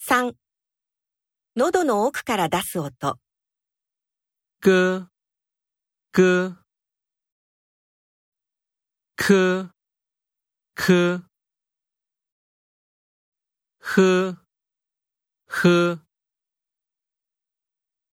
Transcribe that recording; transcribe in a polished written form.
3、喉の奥から出す音。 咯咯科科呵呵